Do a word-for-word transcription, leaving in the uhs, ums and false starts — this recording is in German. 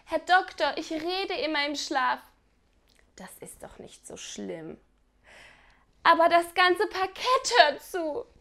Herr Doktor, ich rede immer im Schlaf. Das ist doch nicht so schlimm. Aber das ganze Parkett hört zu.